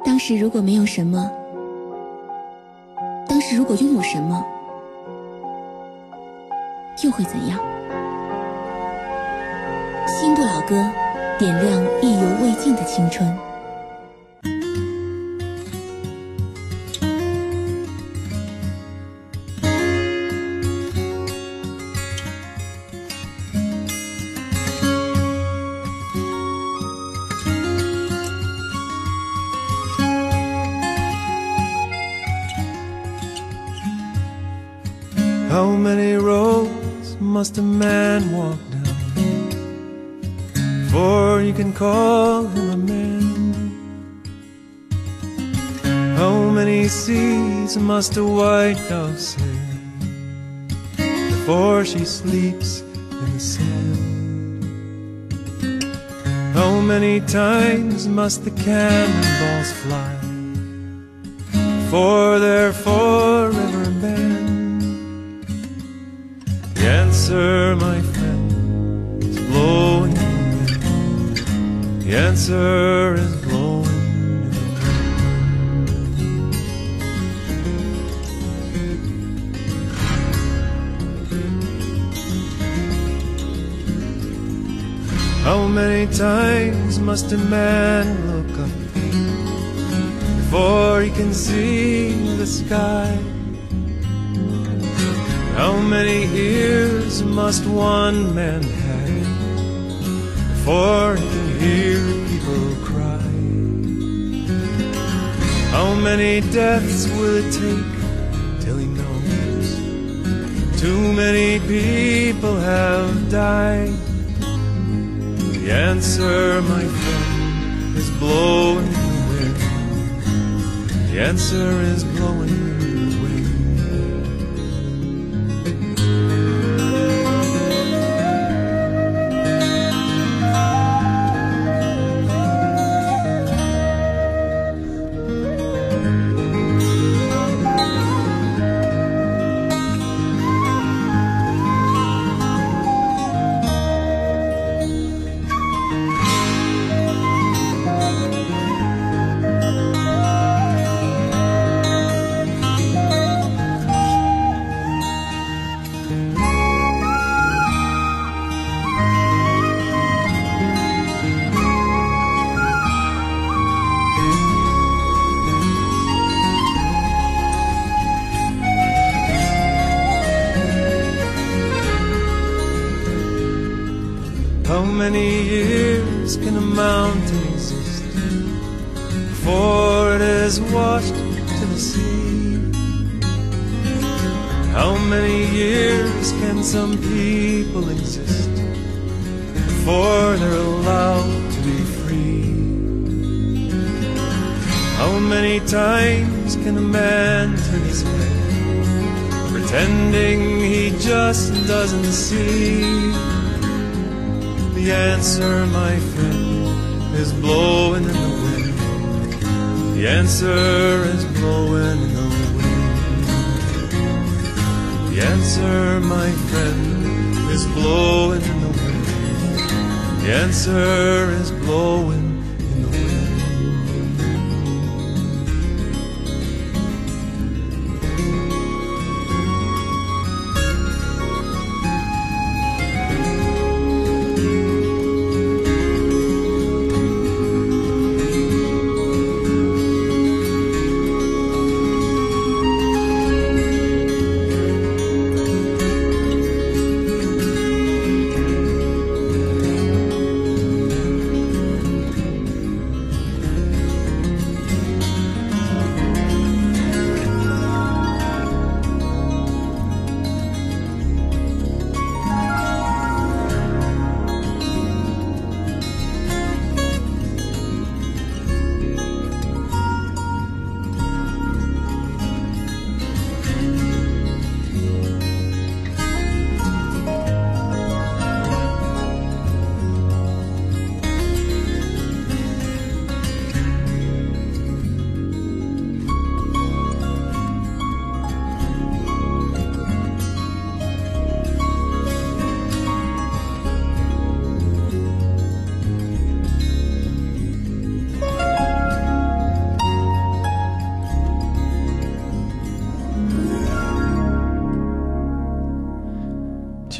当时如果没有什么，当时如果拥有什么，又会怎样？新不老歌，点亮意犹未尽的青春。 How many roads must a man walk down before you can call him a man? How many seas must a white dove sail before she sleeps in the sand? How many times must the cannonballs fly before they're forever banned? The answer, my friend, is blowing in the wind. The answer is blowing in the wind. How many times must a man look up before he can see the sky? How many ears must one man have before he can hear people cry? How many deaths will it take till he knows too many people have died? The answer, my friend, is blowing in the wind. The answer is blowing in the wind. How many years can a mountain exist before it is washed to the sea? How many years can some people exist before they're allowed to be free? How many times can a man turn his head, pretending he just doesn't see? The answer, my friend, is blowing in the wind. The answer is blowing in the wind. The answer, my friend, is blowing in the wind. The answer is blowing in the wind.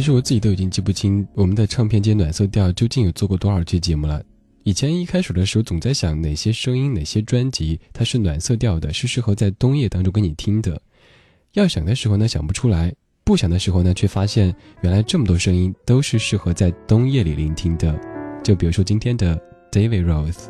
其实我自己都已经记不清我们的唱片街暖色调究竟有做过多少期节目了。以前一开始的时候总在想哪些声音哪些专辑它是暖色调的，是适合在冬夜当中给你听的。要想的时候呢想不出来，不想的时候呢却发现原来这么多声音都是适合在冬夜里聆听的。就比如说今天的 David Rose。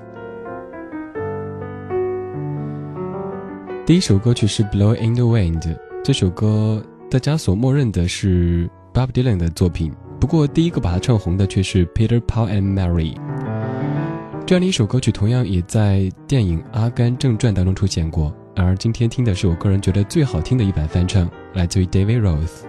第一首歌曲是 Blow in the Wind， 这首歌大家所默认的是 Bob Dylan 的作品，不过第一个把它唱红的却是 Peter Paul and Mary。 这样的一首歌曲同样也在电影《阿甘正传》当中出现过，而今天听的是我个人觉得最好听的一版翻唱，来自于 David Rose。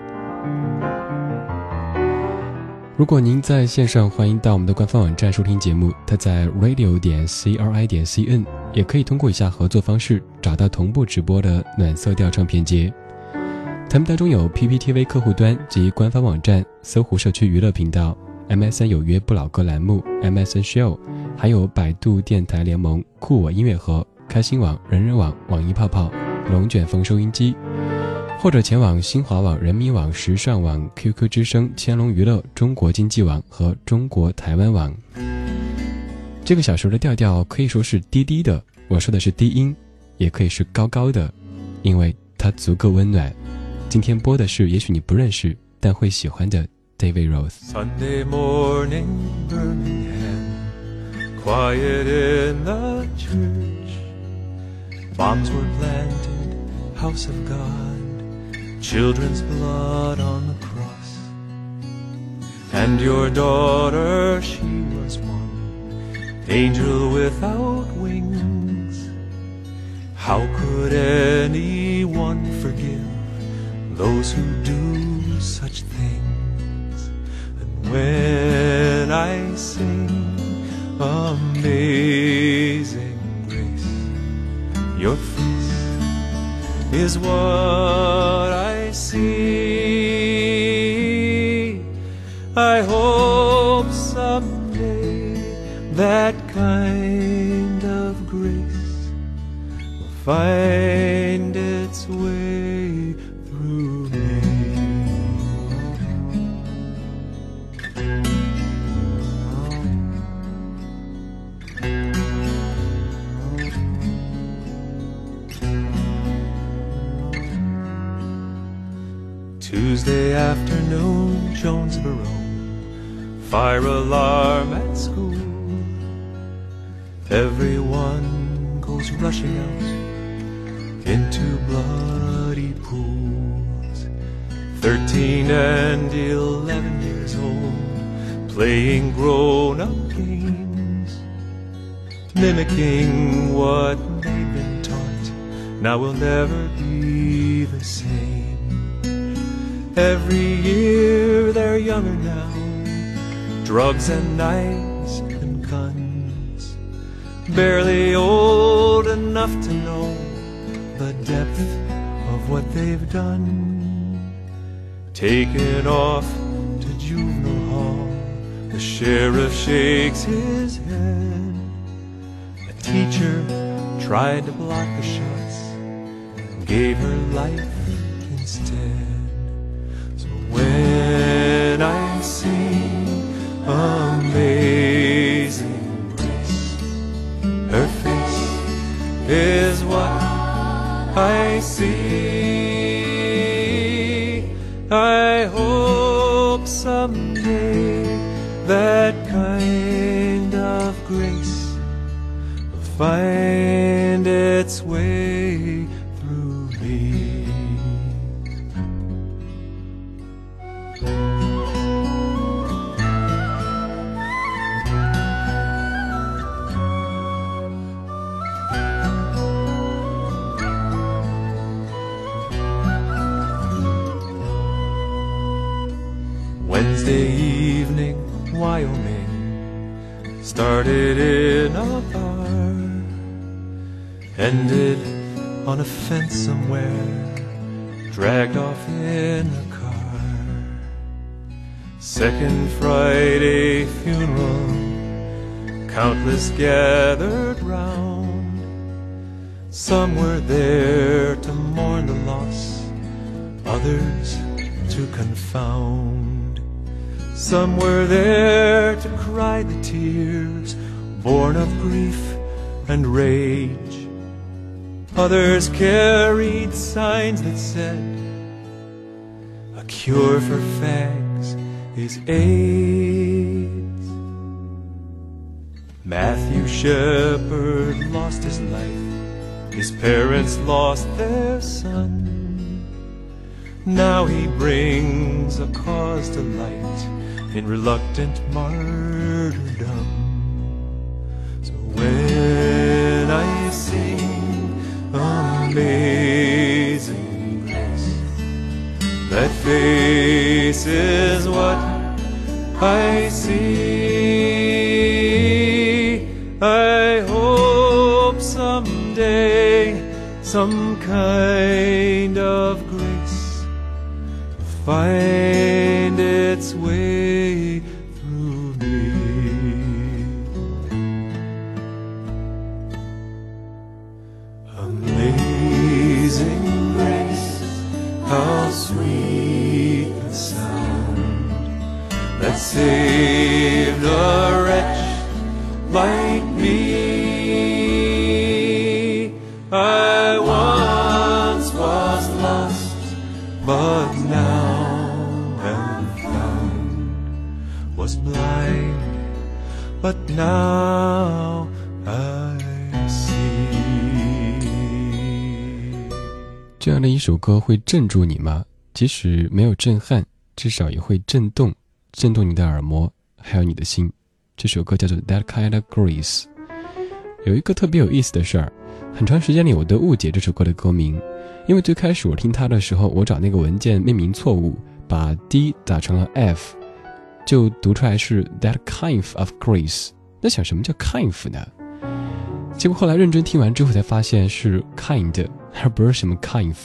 如果您在线上，欢迎到我们的官方网站收听节目，它在 radio.cri.cn， 也可以通过以下合作方式找到同步直播的暖色调唱片街。他们当中有 PPTV 客户端及官方网站、搜狐社区娱乐频道、MSN 有约不老歌栏目、MSN Show， 还有百度电台联盟、酷我音乐盒、开心网、人人网、网易泡泡、龙卷风收音机，或者前往新华网、人民网、时尚网、QQ 之声、千龙娱乐、中国经济网和中国台湾网。这个小时的调调可以说是低低的，我说的是低音，也可以是高高的，因为它足够温暖。今天播的是也许你不认识但会喜欢的 David Rose。 Sunday morning, Birmingham, quiet in the church. Bombs were planted, house of God, children's blood on the cross. And your daughter, she was one, angel without wings. How could anyone forgive those who do such things? And when I sing Amazing Grace, your face is what I see. I hope someday that kind of grace will find its way through me. Tuesday afternoon, Jonesboro, fire alarm at school. Everyone goes rushing out into bloody pools. 13 and 11 years old, playing grown-up games, mimicking what they've been taught. Now we'll never be the same. Every year they're younger now, drugs and knives and guns, barely old enough to know the depth of what they've done. Taken off to juvenile hall, the sheriff shakes his head. A teacher tried to block the shots and gave her life instead. When I sing Amazing Grace, her face is what I see. I hope someday that kind of grace will find its way through me. Wednesday evening, Wyoming, started in a bar, ended on a fence somewhere, dragged off in a car. Second Friday funeral, countless gathered round. Some were there to mourn the loss, others to confound. Some were there to cry the tears born of grief and rage. Others carried signs that said, a cure for fags is AIDS. Matthew Shepard lost his life. His parents lost their son. Now he brings a cause to light in reluctant martyrdom. So when I sing Amazing Grace, that face is what I see. I hope someday some kind of grace will find its way through me. Amazing grace, how sweet the sound that saved a wretch like me. I once was lost, but now am found. Was blind, but now I see. 这样的一首歌会镇住你吗？即使没有震撼，至少也会震动你的耳膜，还有你的心。这首歌叫做 That Kind of Grace。 有一个特别有意思的事儿，很长时间里我都误解这首歌的歌名，因为最开始我听它的时候，我找那个文件命名错误，把 D 打成了 F， 就读出来是 That Kind of Grace。 那想什么叫 kind 呢？结果后来认真听完之后才发现是 kind， 而不是什么 kind。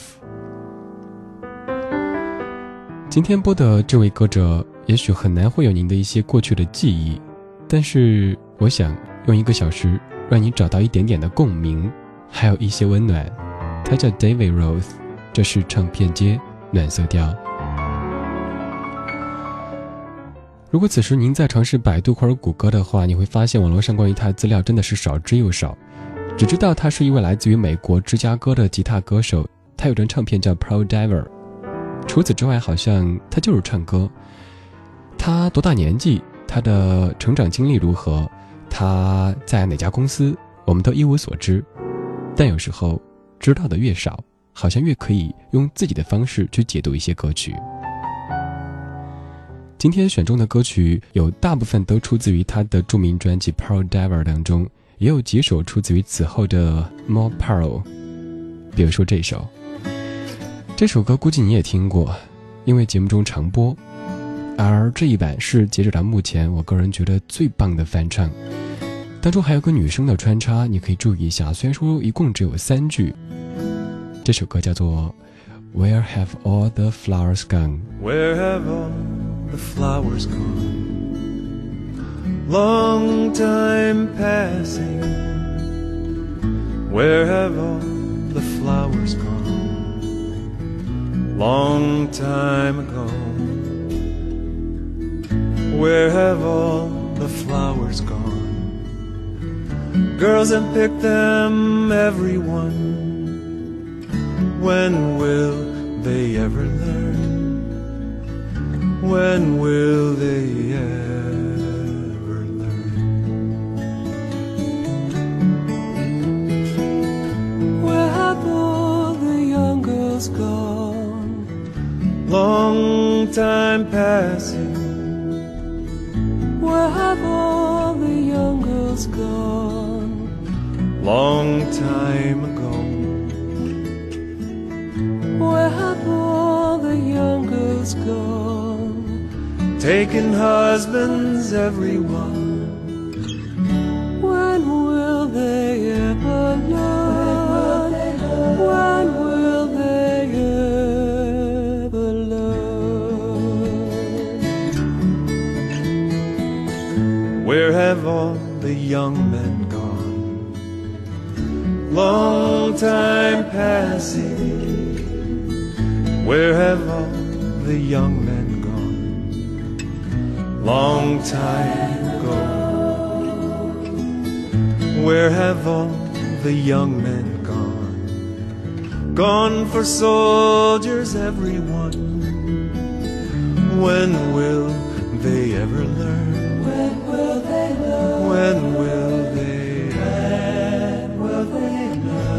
今天播的这位歌者也许很难会有您的一些过去的记忆，但是我想用1个小时让你找到一点点的共鸣，还有一些温暖。他叫 David Roth， 这是唱片街暖色调。如果此时您在尝试百度或者谷歌的话，你会发现网络上关于他的资料真的是少之又少，只知道他是一位来自于美国芝加哥的吉他歌手，他有张唱片叫 Pearl Diver。 除此之外好像他就是唱歌。他多大年纪，他的成长经历如何，他在哪家公司，我们都一无所知。但有时候知道的越少，好像越可以用自己的方式去解读一些歌曲。今天选中的歌曲有大部分都出自于他的著名专辑 Pearl Diver 当中，也有几首出自于此后的 More Pearl。 比如说这首歌估计你也听过，因为节目中常播，而这一版是截止到目前我个人觉得最棒的翻唱，当中还有个女生的穿插，你可以注意一下，虽然说一共只有3句。这首歌叫做 Where Have All the Flowers Gone。 Where have all the flowers gone? Long time passing. Where have all the flowers gone? Long time ago. Where have all the flowers gone? Girls have picked them, everyone. When will they ever learn? When will they ever learn? Where have all the young girls gone? Long time passing. Where have all the young girls gone? Long time ago. Where have all the young girls gone? Taken husbands, everyone. When will they ever learn? When will they ever learn? Where have all the young men gone? Long time passing. Where have all the young men gone? long time ago. Where have all the young men gone? Gone for soldiers, everyone. When will they ever learn? When will they learn? When will they learn? When will they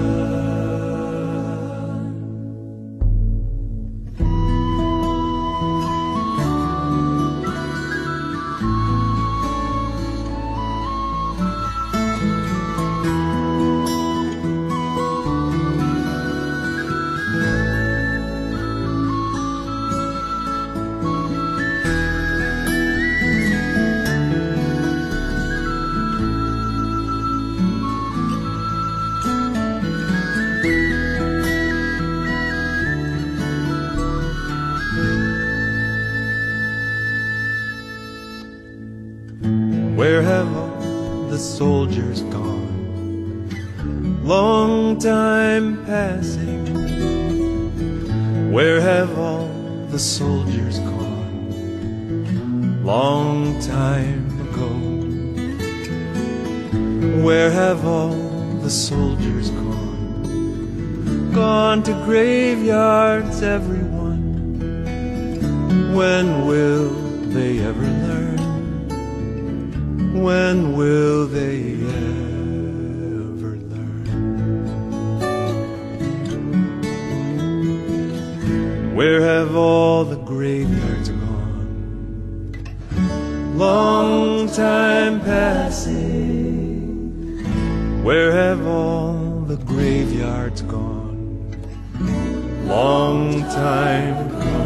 Where have all the soldiers gone? Long time passing. Where have all the soldiers gone? Long time ago. Where have all the soldiers gone? Gone to graveyards, everyone. When will they ever learn? When will they ever learn? Where have all the graveyards gone? Long time passing. Where have all the graveyards gone? Long time ago.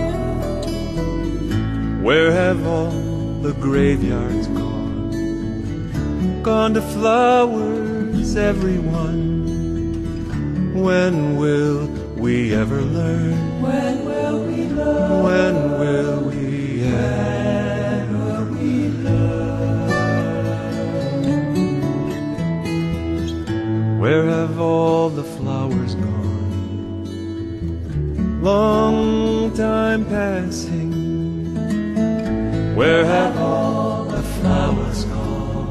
Where have all the graveyards gone? Gone to flowers, everyone. When will we ever learn? When will we learn? When will we ever learn? Where have all the flowers gone? Long time passing. Where have all the flowers gone?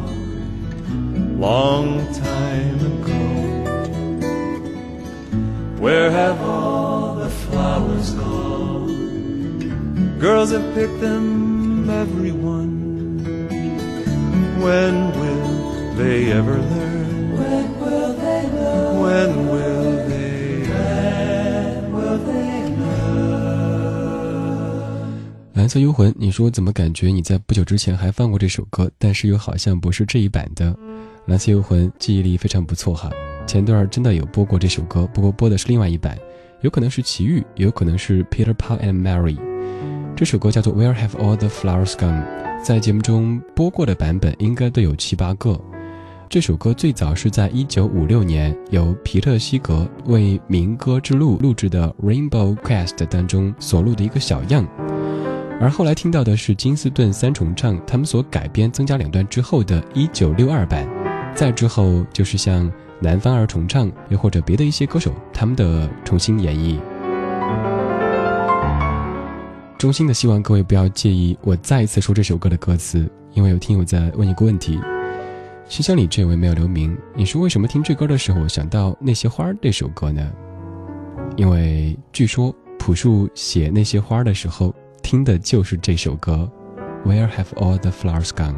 Long time ago. Where have all the flowers gone? Girls have picked them, everyone. When will they ever learn? When will they learn? When will they learn? Will they learn? 蓝色幽魂，你说怎么感觉你在不久之前还放过这首歌，但是又好像不是这一版的。蓝色幽魂记忆力非常不错哈，前段真的有播过这首歌，不过播的是另外一版，有可能是齐豫，也有可能是 Peter Paul and Mary。这首歌叫做 Where Have All the Flowers Gone， 在节目中播过的版本应该都有7、8个。这首歌最早是在1956年由皮特西格为民歌之路录制的 Rainbow Quest 当中所录的一个小样，而后来听到的是金斯顿三重唱他们所改编增加2段之后的1962版，再之后就是像南方二重唱又或者别的一些歌手他们的重新演绎。衷心的希望各位不要介意我再一次说这首歌的歌词，因为有听友在问一个问题。信箱里这位没有留名，你说为什么听这歌的时候想到那些花这首歌呢？因为据说朴树写那些花的时候听的就是这首歌 Where Have All the Flowers Gone。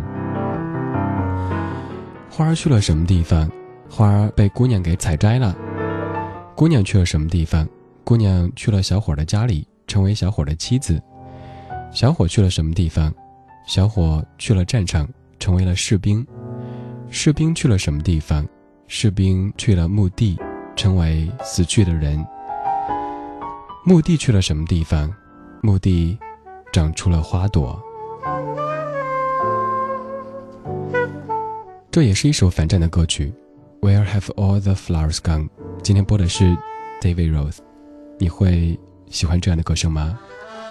花去了什么地方？花被姑娘给采摘了。姑娘去了什么地方？姑娘去了小伙的家里，成为小伙的妻子。小伙去了什么地方？小伙去了战场，成为了士兵。士兵去了什么地方？士兵去了墓地，成为死去的人。墓地去了什么地方？墓地长出了花朵。这也是一首反战的歌曲 Where Have All the Flowers Gone。 今天播的是 David Rose， 你会喜欢这样的歌声吗？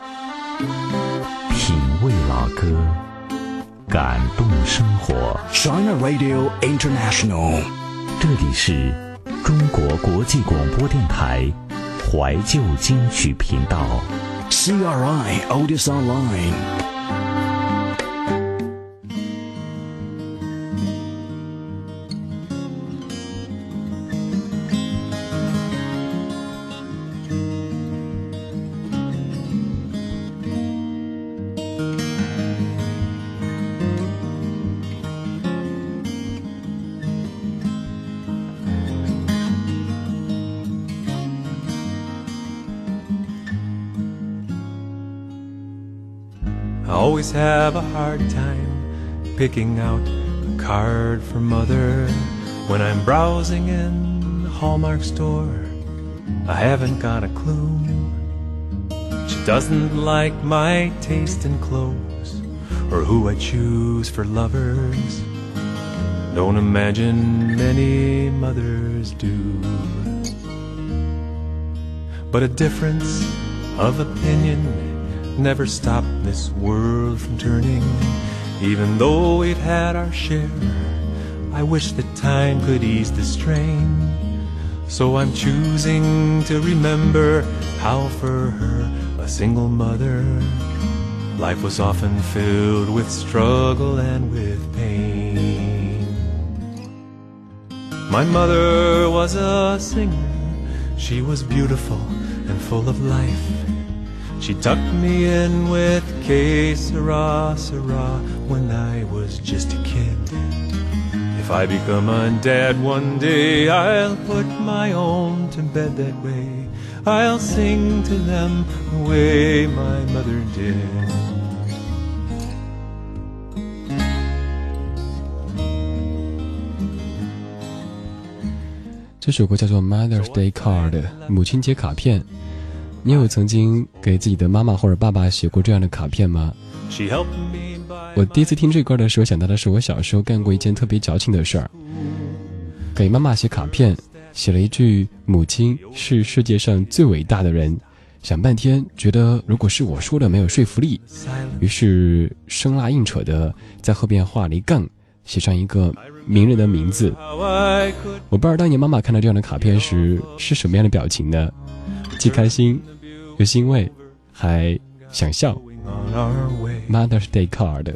品味老歌，感动生活。 China Radio International， 这里是中国国际广播电台怀旧金曲频道。 CRI Otis Online。 always have a hard time picking out a card for mother. When I'm browsing in the Hallmark store, I haven't got a clue. She doesn't like my taste in clothes or who I choose for lovers. Don't imagine many mothers do. But a difference of opinion never stopped this world from turning. Even though we've had our share, I wish that time could ease the strain. So I'm choosing to remember how for her, a single mother, life was often filled with struggle and with pain. My mother was a singer. She was beautiful and full of life. She tucked me in with Que Sera, Sera when I was just a kid. If I become a dad one day, I'll put my own to bed that way. I'll sing to them the way my mother did. 这首歌叫做 Mother's Day Card， 母亲节卡片。你有曾经给自己的妈妈或者爸爸写过这样的卡片吗？我第一次听这歌的时候想到的是我小时候干过一件特别矫情的事儿，给妈妈写卡片，写了一句母亲是世界上最伟大的人，想半天觉得如果是我说的没有说服力，于是生拉硬扯的在后边画了一杠，写上一个名人的名字。我不知道当年妈妈看到这样的卡片时是什么样的表情呢？既开心又欣慰，还想笑。Mother's Day Card。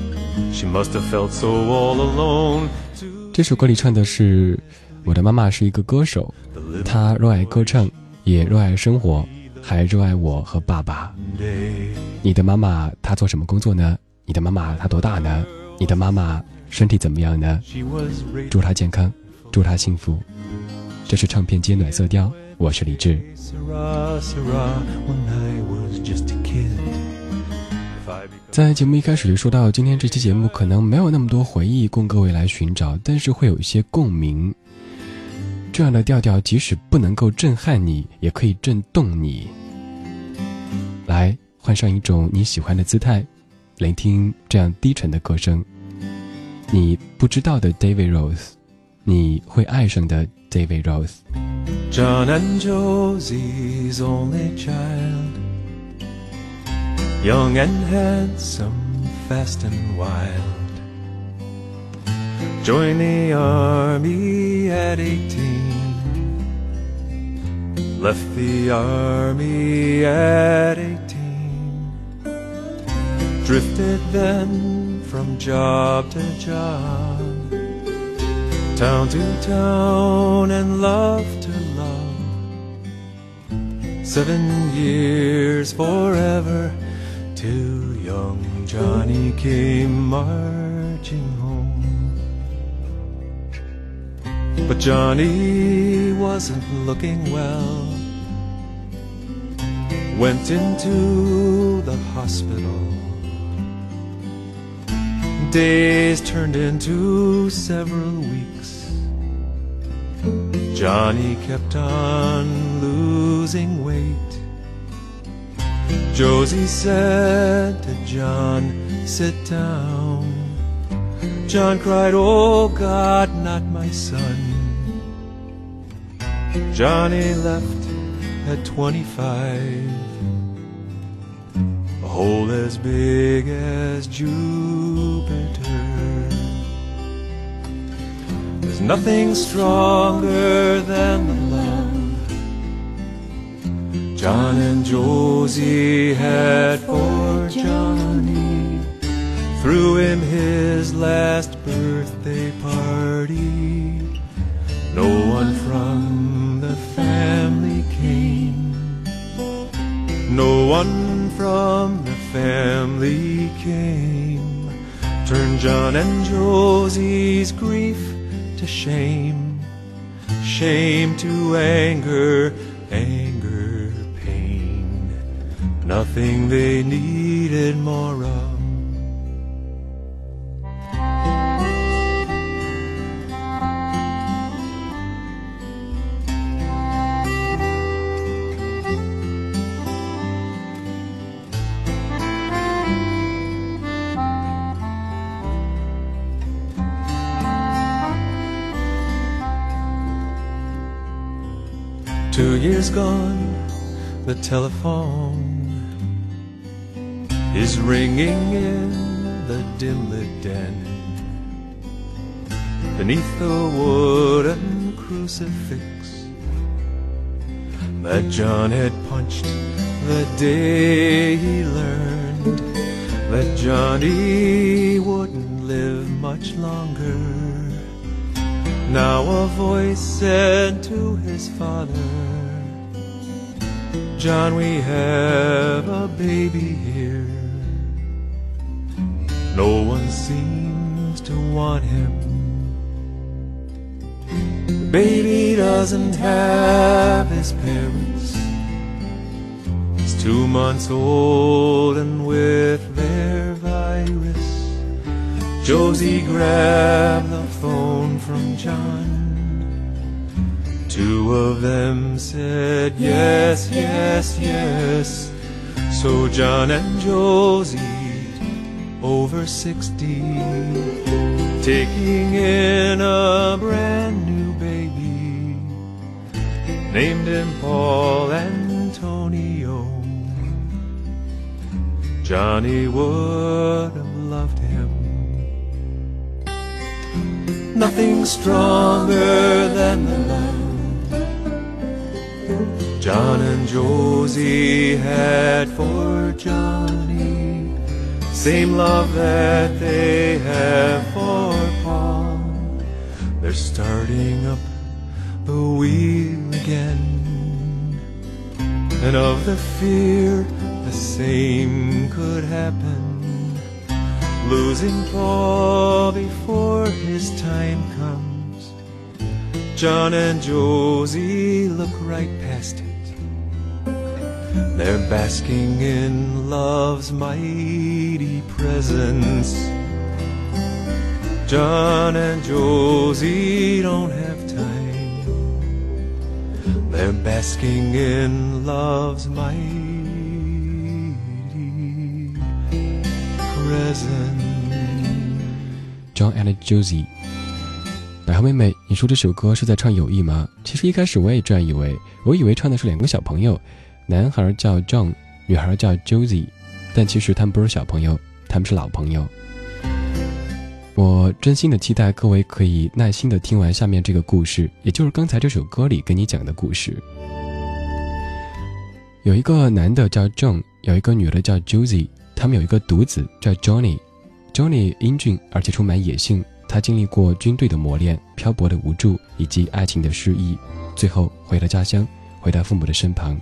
这首歌里唱的是我的妈妈是一个歌手，她热爱歌唱，也热爱生活，还热爱我和爸爸。你的妈妈她做什么工作呢？你的妈妈她多大呢？你的妈妈身体怎么样呢？祝她健康，祝她幸福。这是唱片街暖色调，我是李志。在节目一开始就说到，今天这期节目可能没有那么多回忆供各位来寻找，但是会有一些共鸣。这样的调调即使不能够震撼你，也可以震动你。来，换上一种你喜欢的姿态，聆听这样低沉的歌声。你不知道的 David Rose， 你会爱上的 David Rose。John and Josie's only child, young and handsome, fast and wild, joined the army at 18, left the army at 18, drifted then from job to job, town to town and love to love. 7 years forever till young Johnny came marching home. But Johnny wasn't looking well, went into the hospital. Days turned into several weeks. Johnny kept on losing weight. Josie said to John, sit down. John cried, oh God, not my son. Johnny left at 25, a hole as big as Jupiter. There's nothing stronger than the love John and Josie had for Johnny. Threw him his last birthday party. No one from the family came. No one from the family came. Turned John and Josie's grief to shame, shame to anger, anger, pain. Nothing they needed more of 2 years gone, the telephone is ringing in the dim-lit den. Beneath the wooden crucifix that John had punched the day he learned that Johnny wouldn't live much longer. Now a voice said to his father, John, we have a baby here. No one seems to want him. The baby doesn't have his parents. He's 2 months old and with their virus. Josie grabbed the phone from John. 2 of them said yes, yes, yes. So John and Josie, over 60, taking in a brand new baby, named him Paul Antonio. Johnny would have loved him. Nothing stronger than the love John and Josie had for Johnny, same love that they have for Paul. They're starting up the wheel again, and of the fear the same could happen, losing Paul before his time comes. John and Josie look right past it. They're basking in love's mighty presence. John and Josie don't have time. They're basking in love's mighty presence. John and Josie。百合妹妹，你说这首歌是在唱友谊吗？其实一开始我也这样以为，我以为唱的是2个小朋友，男孩叫 John， 女孩叫 Josie， 但其实他们不是小朋友，他们是老朋友。我真心的期待各位可以耐心的听完下面这个故事，也就是刚才这首歌里跟你讲的故事。有一个男的叫 John， 有一个女的叫 Josie， 他们有一个独子叫 Johnny。Johnny 英俊而且充满野性，他经历过军队的磨练、漂泊的无助以及爱情的失意，最后回了家乡，回到父母的身旁。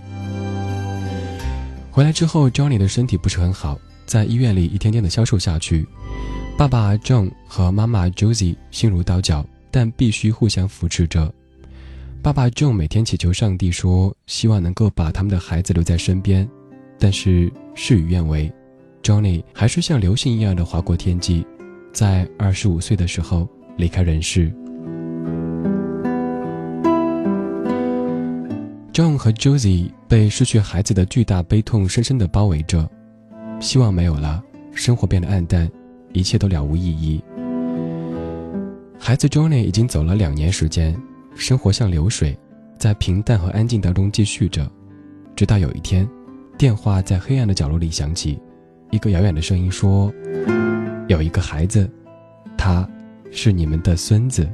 回来之后 Johnny 的身体不是很好，在医院里一天天的消瘦下去。爸爸 John 和妈妈 Josie 心如刀绞，但必须互相扶持着。爸爸 John 每天祈求上帝说，希望能够把他们的孩子留在身边，但是事与愿违， Johnny 还是像流星一样的划过天际，在25岁的时候离开人世。John 和 Josie 被失去孩子的巨大悲痛深深地包围着，希望没有了，生活变得暗淡，一切都了无意义。孩子 Johnny 已经走了2年时间，生活像流水，在平淡和安静当中继续着，直到有一天，电话在黑暗的角落里响起，一个遥远的声音说，有一个孩子，他是你们的孙子。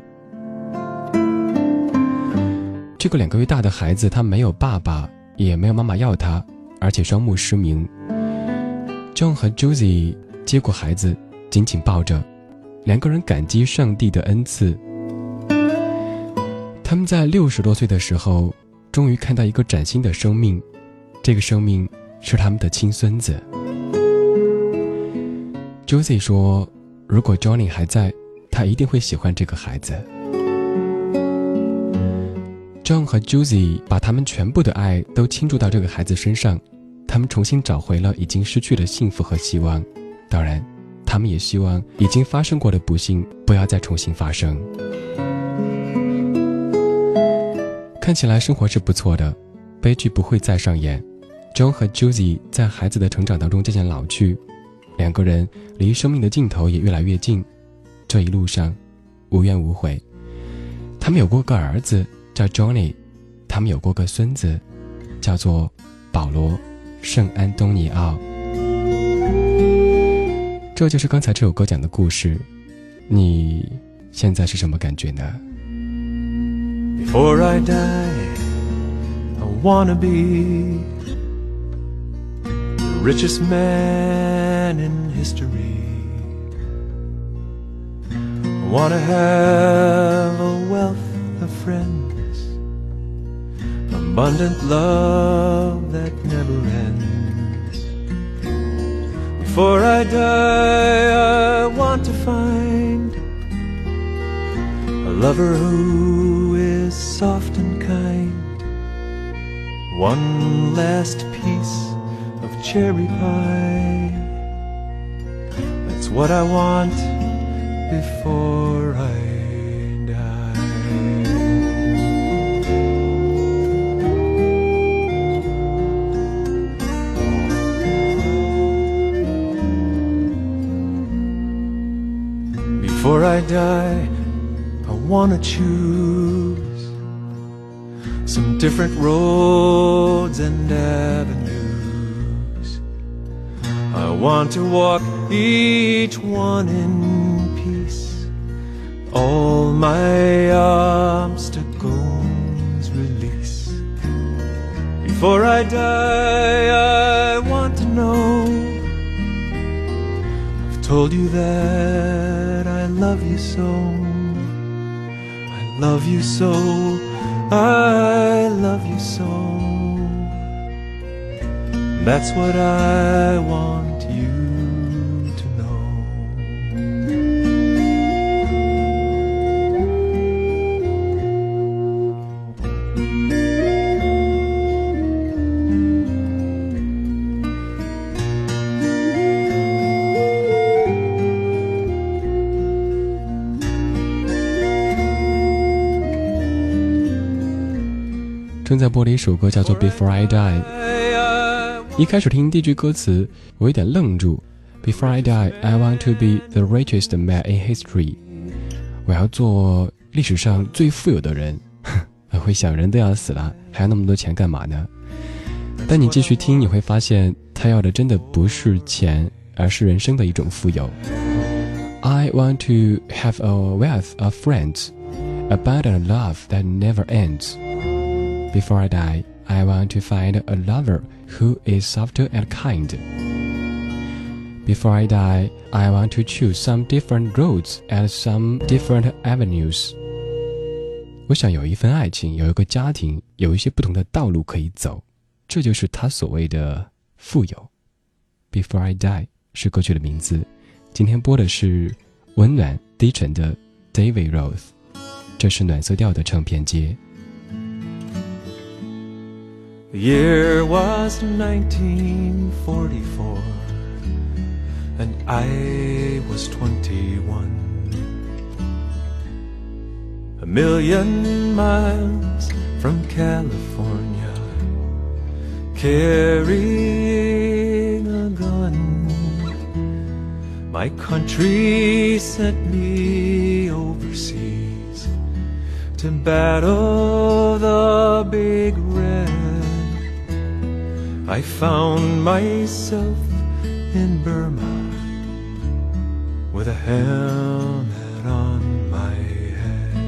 这个2个月大的孩子，他没有爸爸，也没有妈妈要他，而且双目失明。John 和 Josie 接过孩子，紧紧抱着，2个人感激上帝的恩赐。他们在60多岁的时候，终于看到一个崭新的生命，这个生命是他们的亲孙子。Josie 说，如果 Johnny 还在，他一定会喜欢这个孩子。John 和 Josie 把他们全部的爱都倾注到这个孩子身上，他们重新找回了已经失去的幸福和希望。当然，他们也希望已经发生过的不幸不要再重新发生。看起来生活是不错的，悲剧不会再上演。John 和 Josie 在孩子的成长当中渐渐老去，2个人离生命的尽头也越来越近，这一路上无怨无悔。他们有过个儿子叫 Johnny， 他他们有过个孙子，叫做保罗·圣安东尼奥。这就是刚才这首歌讲的故事，你现在是什么感觉呢？ Before I die, I wanna be the richest man in history. I wanna have a wealth of friends, abundant love that never ends. Before I die, I want to find a lover who is soft and kind, one last piece of cherry pie. That's what I want before I die. Before I die, I wanna choose some different roads and avenues. I want to walk each one in peace, all my obstacles release. Before I die, I want to know I've told you that I love you so. I love you so, I love you so. That's what I want you to know. 正在播的一首歌叫做 Before I Die。 一开始听第一句歌词我有点愣住， Before I die, I want to be the richest man in history。 我要做历史上最富有的人。我会想，人都要死了，还要那么多钱干嘛呢？但你继续听，你会发现他要的真的不是钱，而是人生的一种富有。 I want to have a wealth of friends, abundant love that never ends。Before I die, I want to find a lover who is softer and kind. Before I die, I want to choose some different roads and some different avenues. 我想有一份爱情，有一个家庭，有一些不同的道路可以走，这就是他所谓的富有。Before I die 是歌曲的名字，今天播的是温暖低沉的 David Rose， 这是暖色调的唱片街。 The year was 1944, and I was 21. A million miles from California, carrying a gun. My country sent me overseas to battle the Big Red. I found myself in Burma with a helmet on my head.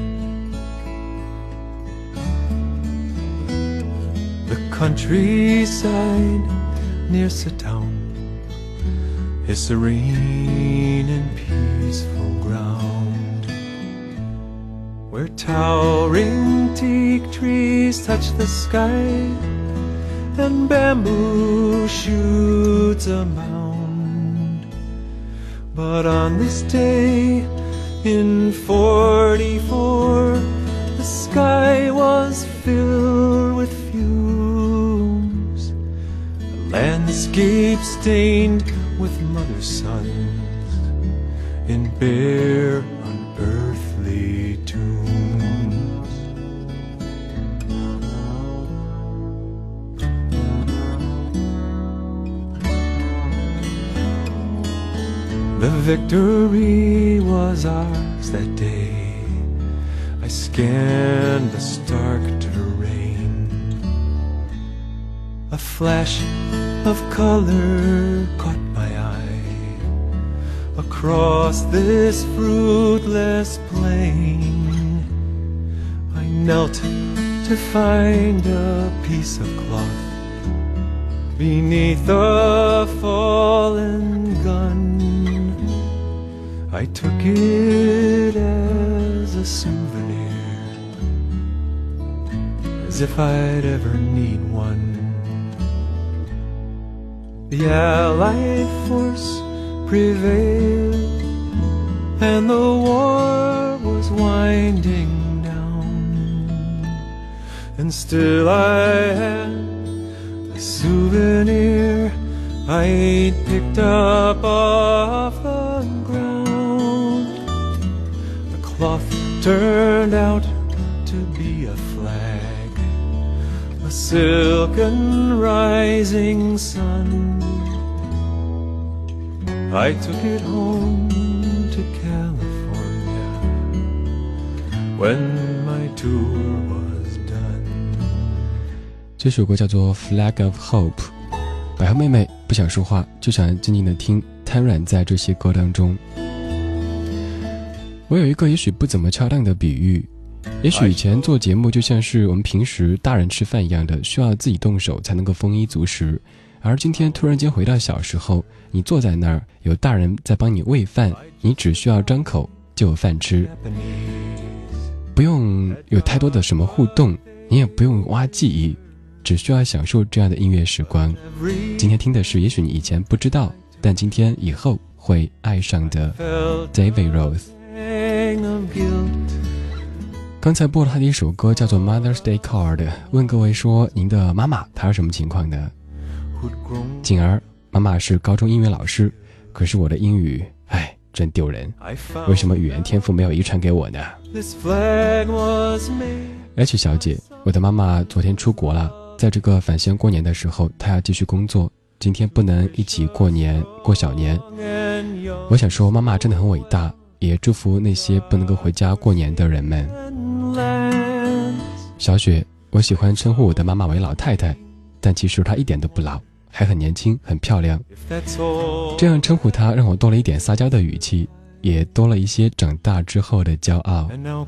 The countryside near Sitown is serene and peaceful ground, where towering teak trees touch the sky and bamboo shoots abound. But on this day in 44, the sky was filled with fumes, a landscape stained with mother suns in bare unearthly tombs. The victory was ours that day. I scanned the stark terrain, A flash of color caught my eye. Across this fruitless plain, I knelt to find a piece of cloth beneath a fallen gun. I took it as a souvenir, as if I'd ever need one. The Allied force prevailed, and the war was winding down, and still I had a souvenir I'd picked up off the ground. The cloth turned out to be a flag, a silken rising sun. I took it home to California when my tour was done. 这首歌叫做 Flag of Hope。 百合妹妹不想说话，就想静静的听，瘫软在这些歌当中。我有一个也许不怎么恰当的比喻，也许以前做节目就像是我们平时大人吃饭一样的，需要自己动手才能够丰衣足食，而今天突然间回到小时候，你坐在那儿，有大人在帮你喂饭，你只需要张口就有饭吃，不用有太多的什么互动，你也不用挖记忆，只需要享受这样的音乐时光。今天听的是也许你以前不知道，但今天以后会爱上的 David Rose。 刚才播了他的一首歌叫做 Mother's Day Card， 问各位说您的妈妈她是什么情况呢？景儿，妈妈是高中英语老师，可是我的英语真丢人，为什么语言天赋没有遗传给我呢？ H 小姐，我的妈妈昨天出国了，在这个返乡过年的时候她要继续工作，今天不能一起过年过小年。我想说妈妈真的很伟大，也祝福那些不能够回家过年的人们。小雪，我喜欢称呼我的妈妈为老太太，但其实她一点都不老，还很年轻很漂亮，这样称呼她让我多了一点撒娇的语气，也多了一些长大之后的骄傲。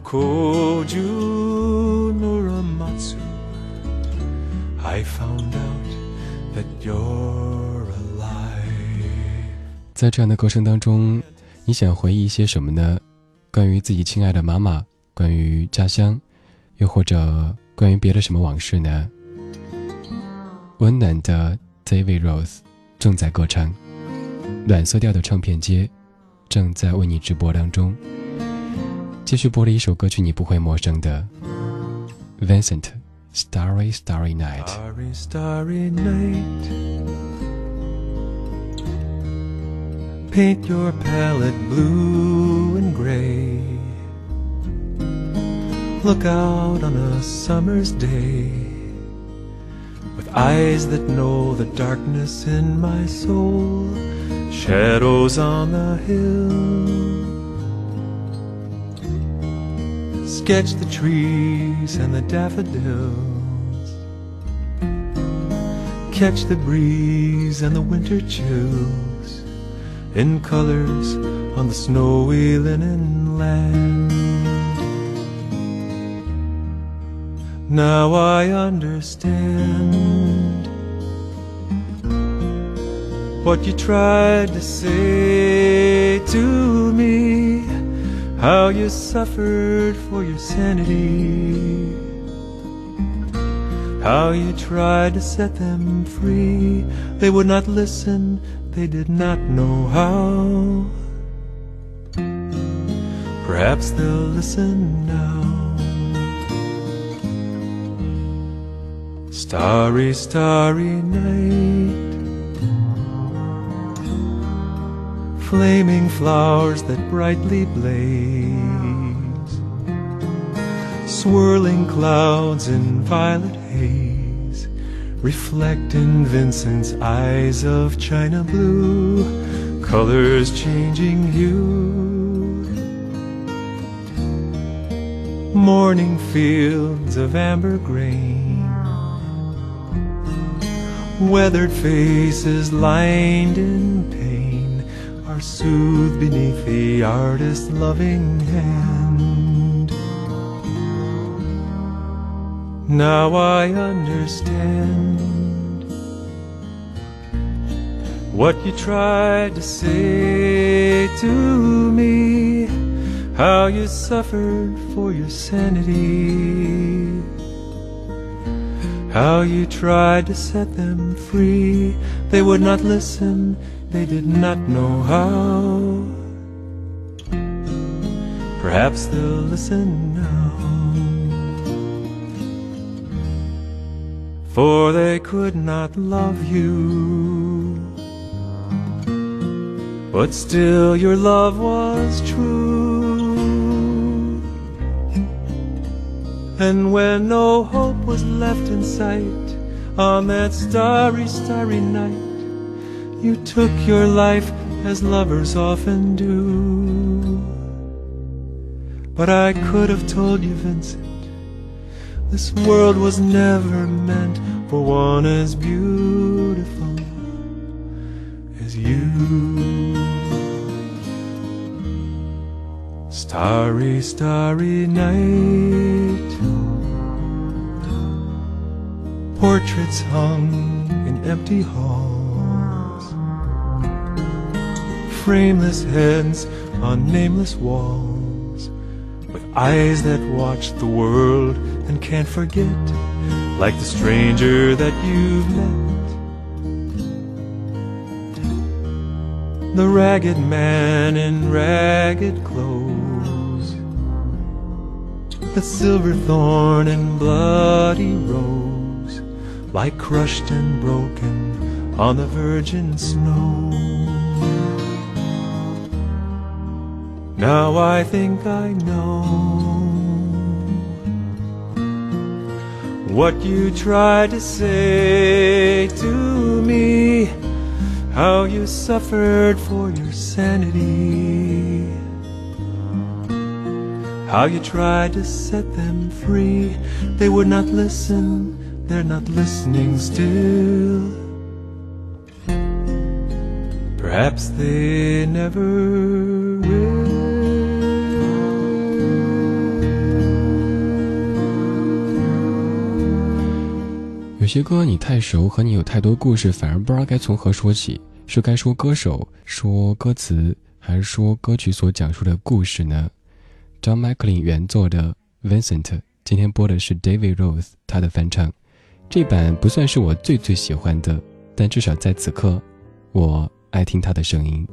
在这样的歌声当中，你想回忆一些什么呢？关于自己亲爱的妈妈，关于家乡，又或者关于别的什么往事呢？温暖的 David Rose 正在歌唱，暖色调的唱片街正在为你直播当中。继续播了一首歌曲你不会陌生的 Vincent Starry Starry Night。 Starry Starry Night, paint your palette blue and gray. Look out on a summer's day with eyes that know the darkness in my soul. Shadows on the hill, sketch the trees and the daffodils, catch the breeze and the winter chills in colors on the snowy linen land. Now I understand what you tried to say to me, how you suffered for your sanity, how you tried to set them free. They would not listen, they did not know how. Perhaps they'll listen now. Starry, starry night, flaming flowers that brightly blaze, swirling clouds in violet haze, reflect in Vincent's eyes of china blue, colors changing hue, morning fields of amber grain, Weathered faces lined in pain are soothed beneath the artist's loving hand. Now I understand what you tried to say to me, how you suffered for your sanity, how you tried to set them free. They would not listen, they did not know how. Perhaps they'll listen now, for they could not love you, but still your love was true. And when no hope was left in sight on that starry, starry night, you took your life as lovers often do. But I could have told you, Vincent, this world was never meant for one as beautiful as you. Starry, starry night, portraits hung in empty halls, frameless heads on nameless walls, with eyes that watch the world and can't forget, like the stranger that you've met. The ragged man in ragged clothes, the silver thorn and bloody rose, lie crushed and broken on the virgin snow. Now I think I know what you tried to say to me, how you suffered for your sanity, how you tried to set them free. They would not listen, they're not listening still. Perhaps they never will. 有些歌你太熟，和你有太多故事，反而不知道该从何说起，是该说歌手，说歌词，还是说歌曲所讲述的故事呢？ John McLean 原作的 Vincent， 今天播的是 David Rose 他的翻唱，这版不算是我最喜欢的，但至少在此刻我爱听他的声音。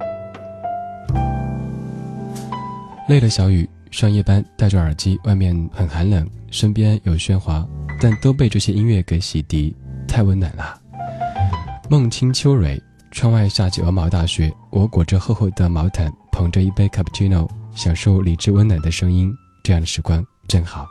累了小雨，上夜班戴着耳机，外面很寒冷，身边有喧哗，但都被这些音乐给洗涤，太温暖了。梦清秋蕊，窗外下起鹅毛大雪，我裹着厚厚的毛毯，捧着一杯 cappuccino， 享受理智温暖的声音，这样的时光真好。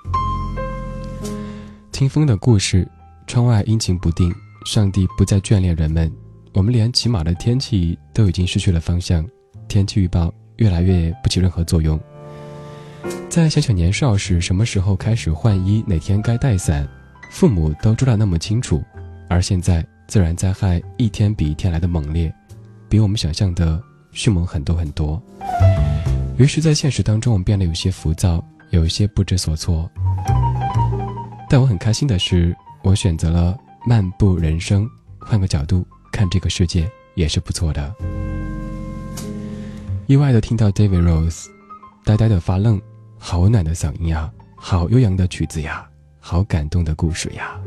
听风的故事，窗外阴晴不定，上帝不再眷恋人们，我们连起码的天气都已经失去了方向，天气预报越来越不起任何作用。在小小年少时，什么时候开始换衣，哪天该带伞，父母都知道那么清楚，而现在自然灾害一天比一天来的猛烈，比我们想象的迅猛很多很多。于是在现实当中，我们变得有些浮躁，有一些不知所措。但我很开心的是，我选择了漫步人生，换个角度看这个世界也是不错的。意外的听到 David Rose， 呆呆的发愣，好温暖的嗓音呀，好悠扬的曲子呀，好感动的故事呀。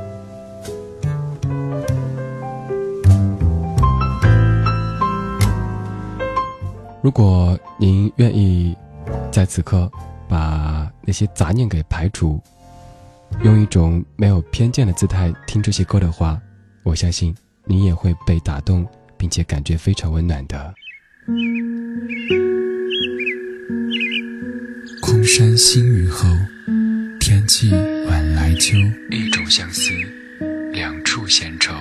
如果您愿意在此刻把那些杂念给排除，用一种没有偏见的姿态听这些歌的话，我相信你也会被打动，并且感觉非常温暖的。 空山新雨后，天气晚来秋， 一种相思，两处闲愁。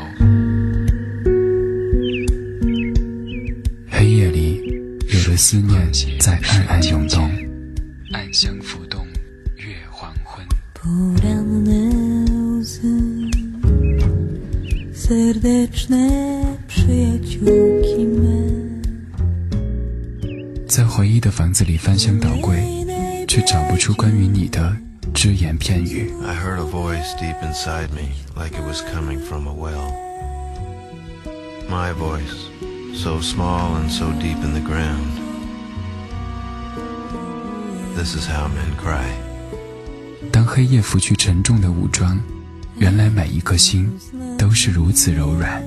黑夜里，有的思念在暗暗涌动， 暗香浮动，月黄昏。 보라는 내 옷은 在回忆的房子里翻箱倒柜，却找不出关于你的只言片语。 I heard a voice deep inside me, like it was coming from a well. My voice, so small and so deep in the ground. This is how men cry. 当黑夜拂去沉重的武装，原来每一颗心都是如此柔软。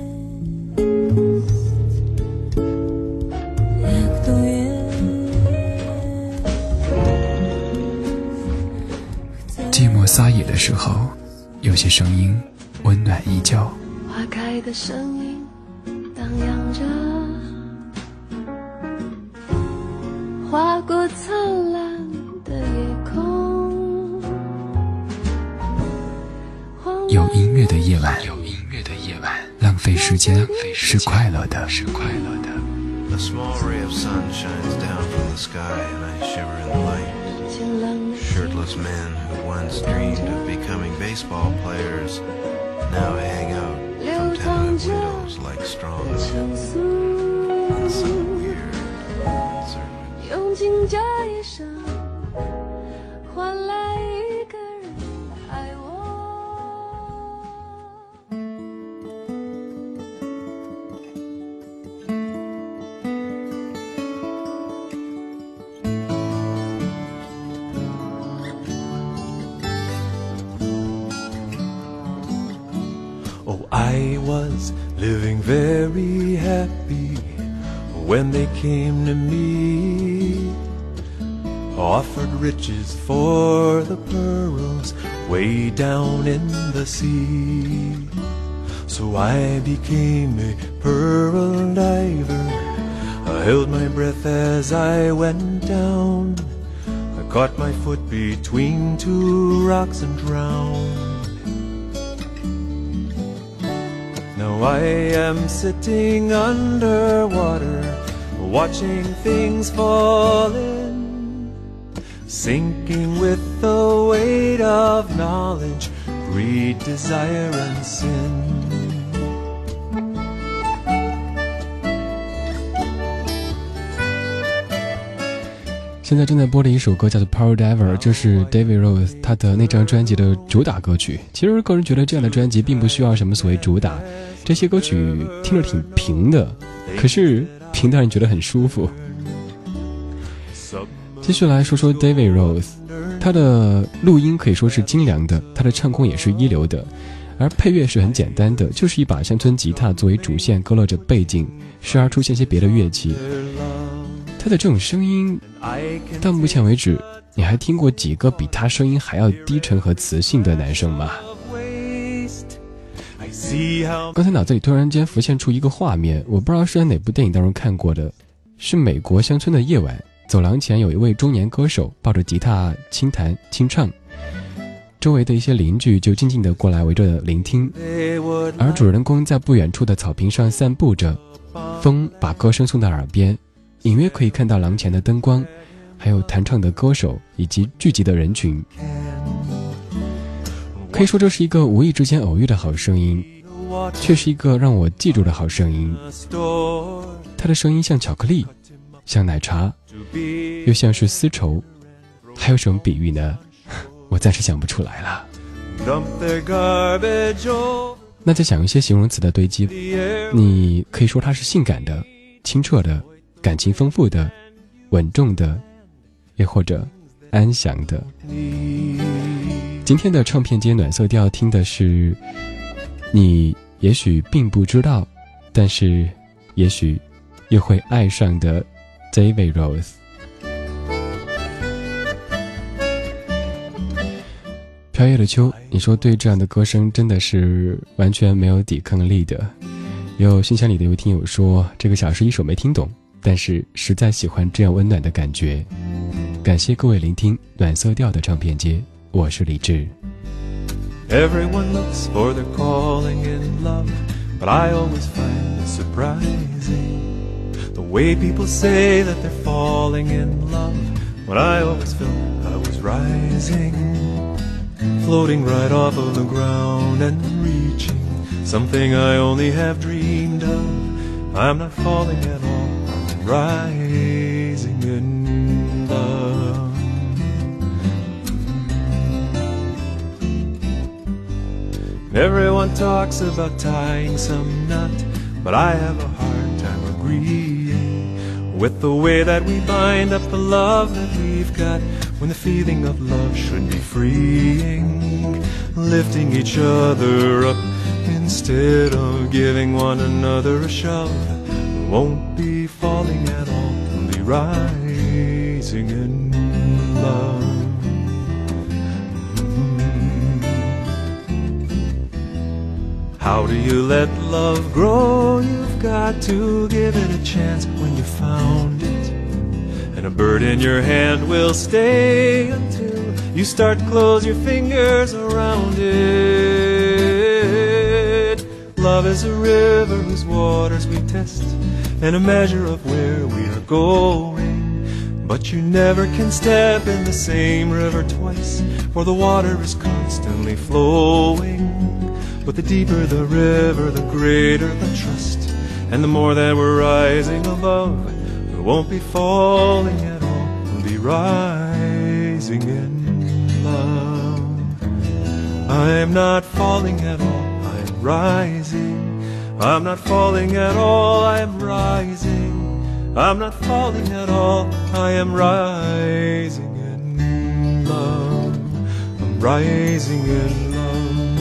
寂寞撒野的时候，有些声音温暖依旧。 花开的声音荡漾着，划过灿烂的夜空。 有音乐的夜晚，浪费时间是快乐的。 A small ray of sun shines down from the sky and I shiver in the light. Shirtless men who once dreamed of becoming baseball players now hang out from tenement windows like strong men in some weird circle. 用尽这一生换来一个人爱我。 Oh, I was living very happy when they came to me, offered riches for the pearls way down in the sea. So I became a pearl diver. I held my breath as I went down. I caught my foot between two rocks and drowned. Now I am sitting underwater, watching things fall in, sinking with the weight of knowledge, greed, desire, and sin. 现在正在播的一首歌叫做 Pearl Diver， 这是 David Rose 他的那张专辑的主打歌曲。其实个人觉得这样的专辑并不需要什么所谓主打，这些歌曲听着挺平的，可是平的让人觉得很舒服。继续来说说 David Rose， 他的录音可以说是精良的，他的唱功也是一流的，而配乐是很简单的，就是一把乡村吉他作为主线勾勒着背景，时而出现些别的乐器。他的这种声音到目前为止你还听过几个比他声音还要低沉和磁性的男生吗？刚才脑子里突然间浮现出一个画面，我不知道是在哪部电影当中看过的，是美国乡村的夜晚，走廊前有一位中年歌手抱着吉他轻弹轻唱，周围的一些邻居就静静地过来围着聆听，而主人公在不远处的草坪上散步着，风把歌声送到耳边，隐约可以看到廊前的灯光，还有弹唱的歌手以及聚集的人群。可以说这是一个无意之间偶遇的好声音，却是一个让我记住的好声音。他的声音像巧克力，像奶茶，又像是丝绸，还有什么比喻呢？我暂时想不出来了。那再想一些形容词的堆积，你可以说它是性感的、清澈的、感情丰富的、稳重的，也或者安详的。今天的唱片街暖色调听的是你也许并不知道，但是也许又会爱上的 David Rose。 飘夜的秋，你说对这样的歌声真的是完全没有抵抗力的。有信箱里的一位听友说，这个小时一首没听懂，但是实在喜欢这样温暖的感觉。感谢各位聆听暖色调的唱片街，我是李志。 Everyone looks for their calling in love, but I always find it surprising the way people say that they're falling in love, when I always felt I was rising, floating right off of the ground and reaching something I only have dreamed of. I'm not falling at all, I'm rising in love. Everyone talks about tying some knot, but I have a hard time agreeing with the way that we bind up the love that we've got, when the feeling of love should be freeing, lifting each other up instead of giving one another a shove. We won't be falling at all, we'll be rising in love. How do you let love grow? You've got to give it a chance when you found it. And a bird in your hand will stay until you start to close your fingers around it. Love is a river whose waters we test, and a measure of where we are going. But you never can step in the same river twice, for the water is constantly flowing. But the deeper the river, the greater the trust, and the more that we're rising above, we won't be falling at all, we'll be rising in love. I'm not falling at all, I'm rising. I'm not falling at all, I am rising. I'm not falling at all, I am rising in love. I'm rising in love.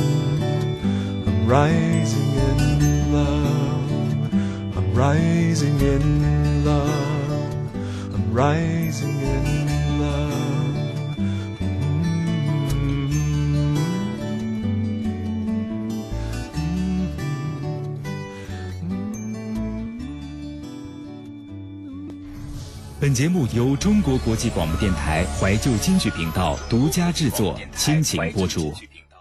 Rising in love, I'm rising in love, I'm rising in love. 本节目由中国国际广播电台怀旧京剧频道独家制作，倾情播出。